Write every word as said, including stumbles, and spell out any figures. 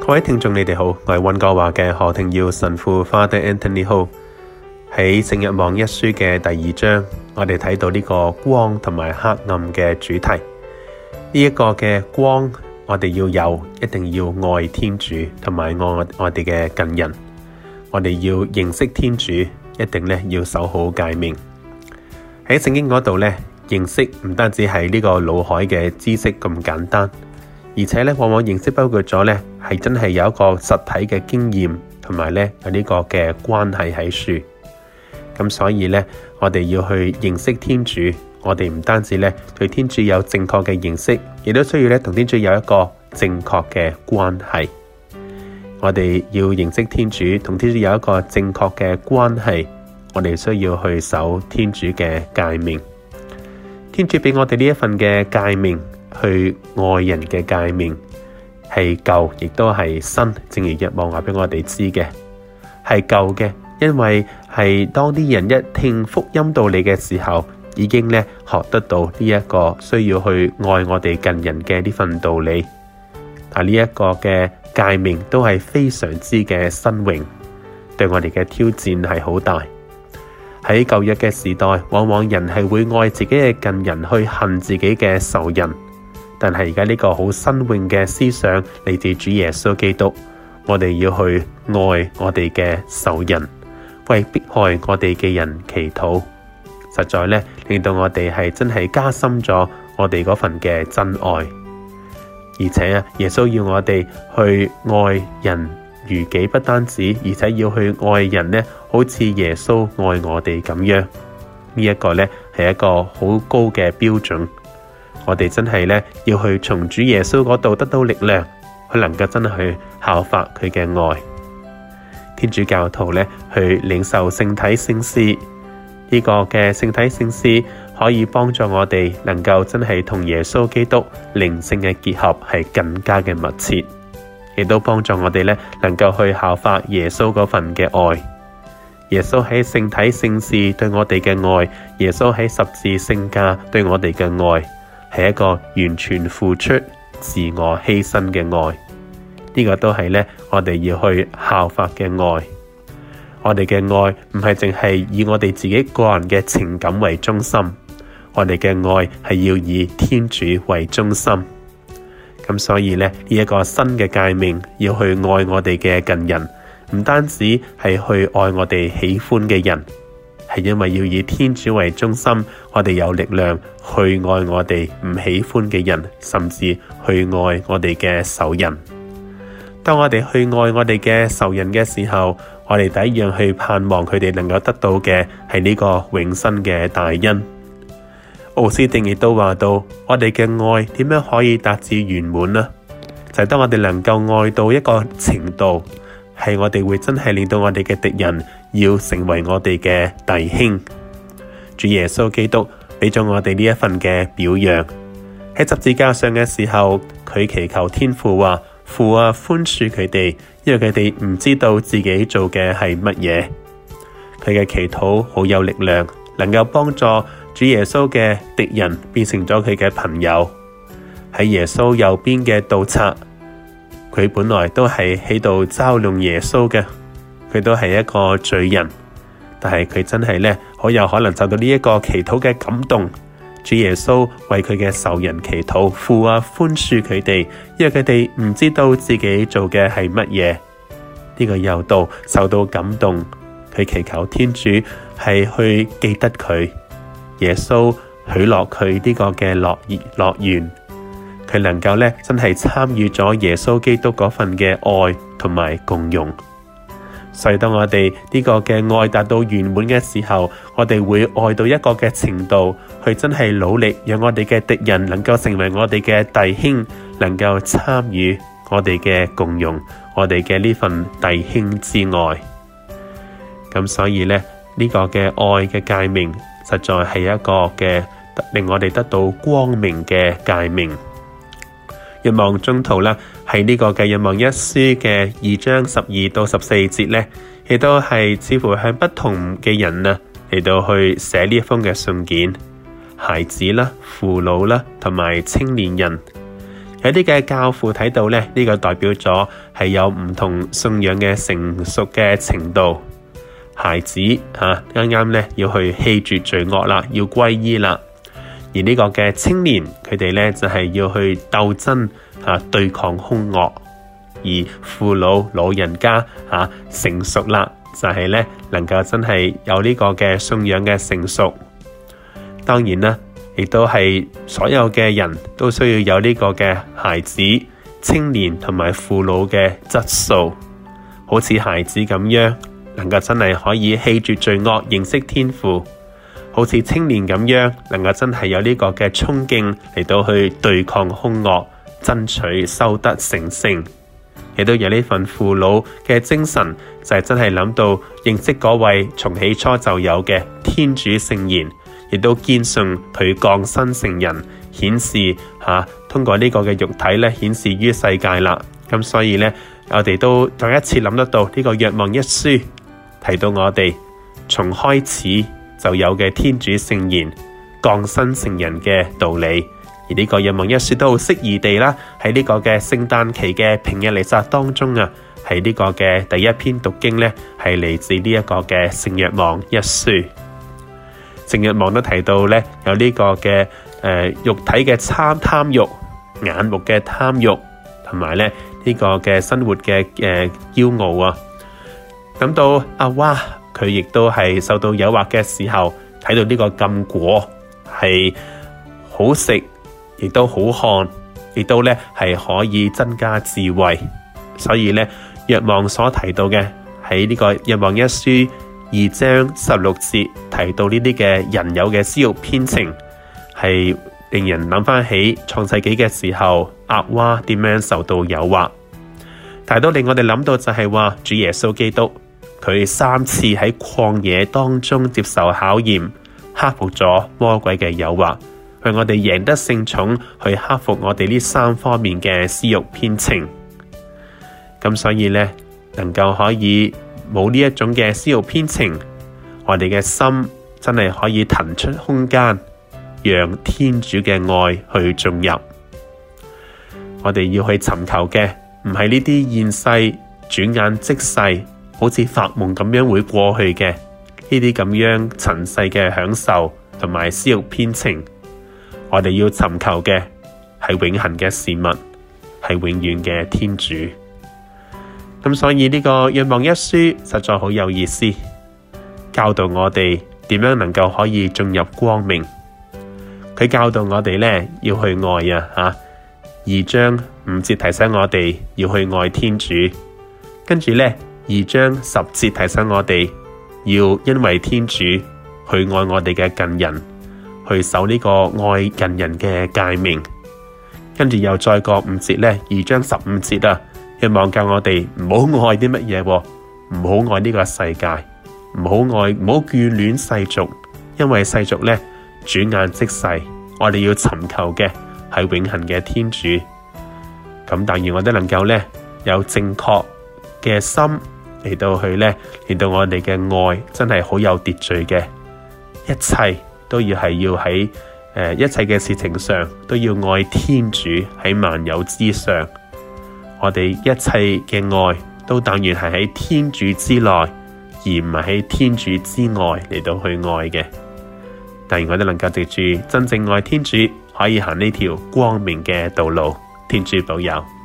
各位聽眾你哋好，我係溫哥華嘅何庭耀神父 Father Anthony Ho。喺聖若望一書嘅第二章，我哋睇到呢個光同埋黑暗嘅主題。呢、這、一個嘅光，我哋要有，一定要愛天主同埋愛我哋嘅近人。我哋要認識天主，一定咧要守好誡命。喺聖經嗰度咧，認識唔單止係呢個腦海嘅知識咁簡單。而且咧，往往認識包括咗咧，係真係有一個實體嘅經驗，同埋咧有呢個嘅關係喺處。咁所以咧，我哋要去認識天主，我哋唔單止咧對天主有正確嘅認識，亦都需要咧同天主有一個正確嘅關係。我哋要認識天主，同天主有一個正確嘅關係，我哋需要去守天主嘅誡命。天主俾我哋呢一份嘅誡命。去愛人嘅誡命係舊，亦都係新。正如若望話俾我哋知嘅，係舊嘅，因為係當啲人一聽福音道理嘅時候，已經咧學得到呢一個需要去愛我哋近人嘅呢份道理。但呢一個嘅誡命都係非常之嘅新穎，對我哋嘅挑戰係好大。喺舊約嘅時代，往往人係會愛自己嘅近人，去恨自己嘅仇人。但係而家呢個好新穎嘅思想嚟自主耶穌基督，我哋要去愛我哋嘅仇人，為迫害我哋嘅人祈禱，實在咧令到我哋係真係加深咗我哋嗰份嘅真愛。而且啊，耶穌要我哋去愛人如己，不單止，而且要去愛人呢，好似耶穌愛我哋咁樣。呢一個呢係一個好高嘅標準。我哋真係咧要去從主耶穌嗰度得到力量，去能夠真係去效法佢嘅愛。天主教徒咧去領受聖體聖事，呢個嘅聖體聖事可以幫助我哋能夠真係同耶穌基督靈性嘅結合係更加嘅密切，亦都幫助我哋咧能夠去效法耶穌嗰份嘅愛。耶穌喺聖體聖事對我哋嘅愛，耶穌喺十字聖架對我哋嘅愛，係一個完全付出、自我犧牲嘅愛，呢個都係咧我哋要去效法嘅愛。我哋嘅愛唔係淨係以我哋自己個人嘅情感為中心，我哋嘅愛係要以天主為中心。咁所以咧呢一個新嘅誡命，要去愛我哋嘅近人，唔單止係去愛我哋喜歡嘅人。係因為要以天主為中心，我哋有力量去愛我哋唔喜歡嘅人，甚至去愛我哋嘅仇人。當我哋去愛我哋嘅仇人嘅時候，我哋第一樣去盼望佢哋能夠得到嘅係呢個永生嘅大恩。奧斯定亦都話到，我哋嘅愛點樣可以達至圓滿呢？就係當我哋能夠愛到一個程度，係我哋會真係令到我哋嘅敵人要成為我哋嘅弟兄。主耶穌基督俾咗我哋呢一份嘅表揚。喺十字架上嘅時候，佢祈求天父話：父啊，寬恕佢哋，因為佢哋唔知道自己做嘅係乜嘢。佢嘅祈禱好有力量，能夠幫助主耶穌嘅敵人變成咗佢嘅朋友。喺耶穌右邊嘅盜賊，佢本來都係喺度嘲弄耶穌嘅，佢都係一個罪人，但係佢真係咧好有可能受到呢一個祈禱嘅感動。主耶穌為佢嘅仇人祈禱，父啊，寬恕佢哋，因為佢哋唔知道自己做嘅係乜嘢。呢個猶道受到感動，佢祈求天主係去記得佢，耶穌許諾佢呢個嘅樂樂園。佢能夠咧真係參與咗耶穌基督嗰份嘅愛同埋共融，所以當我哋呢個嘅愛達到圓滿嘅時候，我哋會愛到一個嘅程度，去真係努力讓我哋嘅敵人能夠成為我哋嘅弟兄，能夠參與我哋嘅共融，我哋嘅呢份弟兄之愛。咁所以咧呢個嘅愛嘅誡命，實在係一個嘅令我哋得到光明嘅誡命。若望中途啦，喺呢個嘅若望一書嘅二章十二到十四節咧，亦都係似乎向不同嘅人啊嚟到去寫呢一封嘅信件，孩子啦、父老啦同埋青年人。 有啲嘅教父睇到咧，呢、這個代表咗係有唔同信仰嘅成熟嘅程度。孩子吓啱啱咧要去棄絕罪惡啦，要歸依啦。而呢個嘅青年，佢哋咧就係、是、要去鬥爭吓、啊，對抗兇惡。而父老老人家吓、啊、成熟啦，就係、是、咧能夠真係有呢個嘅信仰嘅成熟。當然啦，亦都係所有嘅人都需要有呢個嘅孩子、青年同埋父老嘅質素，好似孩子咁樣，能夠真係可以棄絕罪惡，認識天父；好似青年咁樣，能夠真係有呢個嘅衝勁嚟到去對抗兇惡，爭取修德成聖。亦都有呢份父老嘅精神，就係、是、真係諗到認識嗰位從起初就有嘅天主聖言，亦都堅信佢降生成人，顯示吓、啊、通過呢個嘅肉體咧，顯示於世界啦。咁所以咧，我哋都再一次諗得到呢、這個若望一書提到我哋從開始就有嘅天主聖言降生成人嘅道理。而呢個若望一書都好適宜地啦，喺呢個嘅聖誕期嘅平日彌撒當中啊，係呢個嘅第一篇讀經咧，係嚟自呢一個嘅聖若望一書。聖若望都提到咧，有呢個嘅誒、呃、肉體嘅貪貪慾、眼目嘅貪慾，同埋咧呢、這個嘅生活嘅誒驕傲啊。咁到阿娃佢亦都係受到誘惑嘅時候，睇到呢個禁果係好食，亦都好看，亦都咧係可以增加智慧。所以咧，若望所提到嘅喺呢個若望一書二章十六節提到呢啲嘅人有嘅私慾偏情，係令人諗翻起創世紀嘅時候，厄娃點樣受到誘惑。但係都令我哋諗到就係話，主耶穌基督佢三次喺曠野當中接受考驗，克服咗魔鬼嘅誘惑，讓我哋贏得聖寵，去克服我哋呢三方面嘅私慾偏情。咁所以呢，能夠可以冇呢一種嘅私慾偏情，我哋嘅心真係可以騰出空間，讓天主嘅愛去進入。我哋要去尋求嘅唔係呢啲現世轉眼即逝，好似發夢咁樣會過去嘅呢啲咁樣塵世嘅享受同埋私慾偏情。我哋要尋求嘅係永恆嘅事物，係永遠嘅天主。咁所以呢個若望一書實在好有意思，教導我哋點樣能夠可以進入光明。佢教導我哋呢要去愛啊吓，二章五節提醒我哋要去愛天主，跟住呢二章十節提醒我哋要因為天主去愛我哋嘅近人，去守呢個愛近人嘅誡命。跟住又再過五節呢，二章十五節啊，若望教我哋唔好愛啲乜嘢，唔好愛呢個世界，唔好愛，唔好眷戀世俗，因為世俗呢轉眼即逝，我哋要尋求嘅係永恆嘅天主。咁但願我哋能夠呢有正確嘅心嚟到去呢，令到我哋嘅愛真係好有秩序嘅，一切都要係要喺誒、呃、一切嘅事情上都要愛天主喺萬有之上。我哋一切嘅愛都但願係喺天主之內，而唔係喺天主之外嚟到去愛嘅。但願我哋能夠藉住真正愛天主，可以行呢條光明嘅道路。天主保佑。